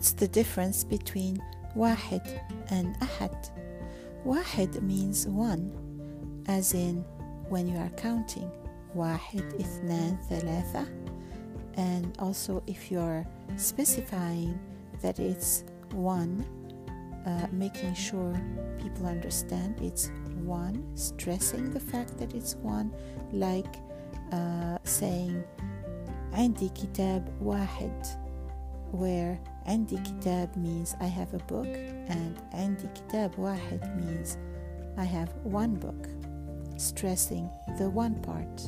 What's the difference between واحد and أحد? واحد means one, as in when you are counting واحد اثنان ثلاثة, and also if you're specifying that it's one, making sure people understand it's one, stressing the fact that it's one, like saying عندي كتاب واحد, where عندي كتاب means I have a book and عندي كتاب واحد means I have one book, stressing the one part.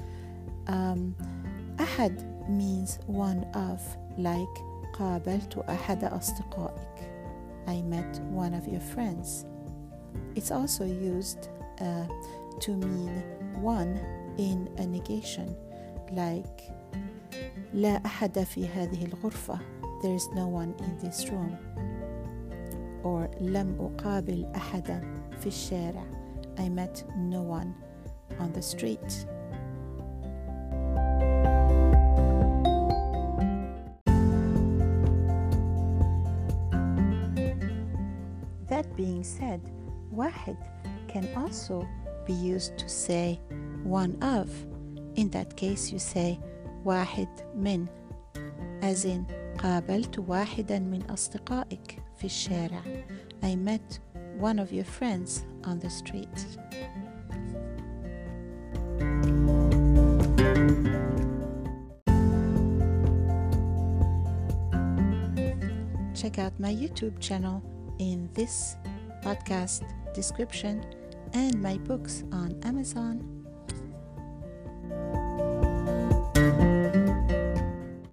أحد means one of, like قابلت أحد أصدقائك, I met one of your friends. It's also used to mean one in a negation, like لا أحد في هذه الغرفة, there is no one in this room. Or لم أقابل أحدا في الشارع, I met no one on the street. That being said, واحد can also be used to say one of. In that case you say واحد من, as in قابلت واحدا من أصدقائك في الشارع, I met one of your friends on the street. Check out my YouTube channel in this podcast description and my books on Amazon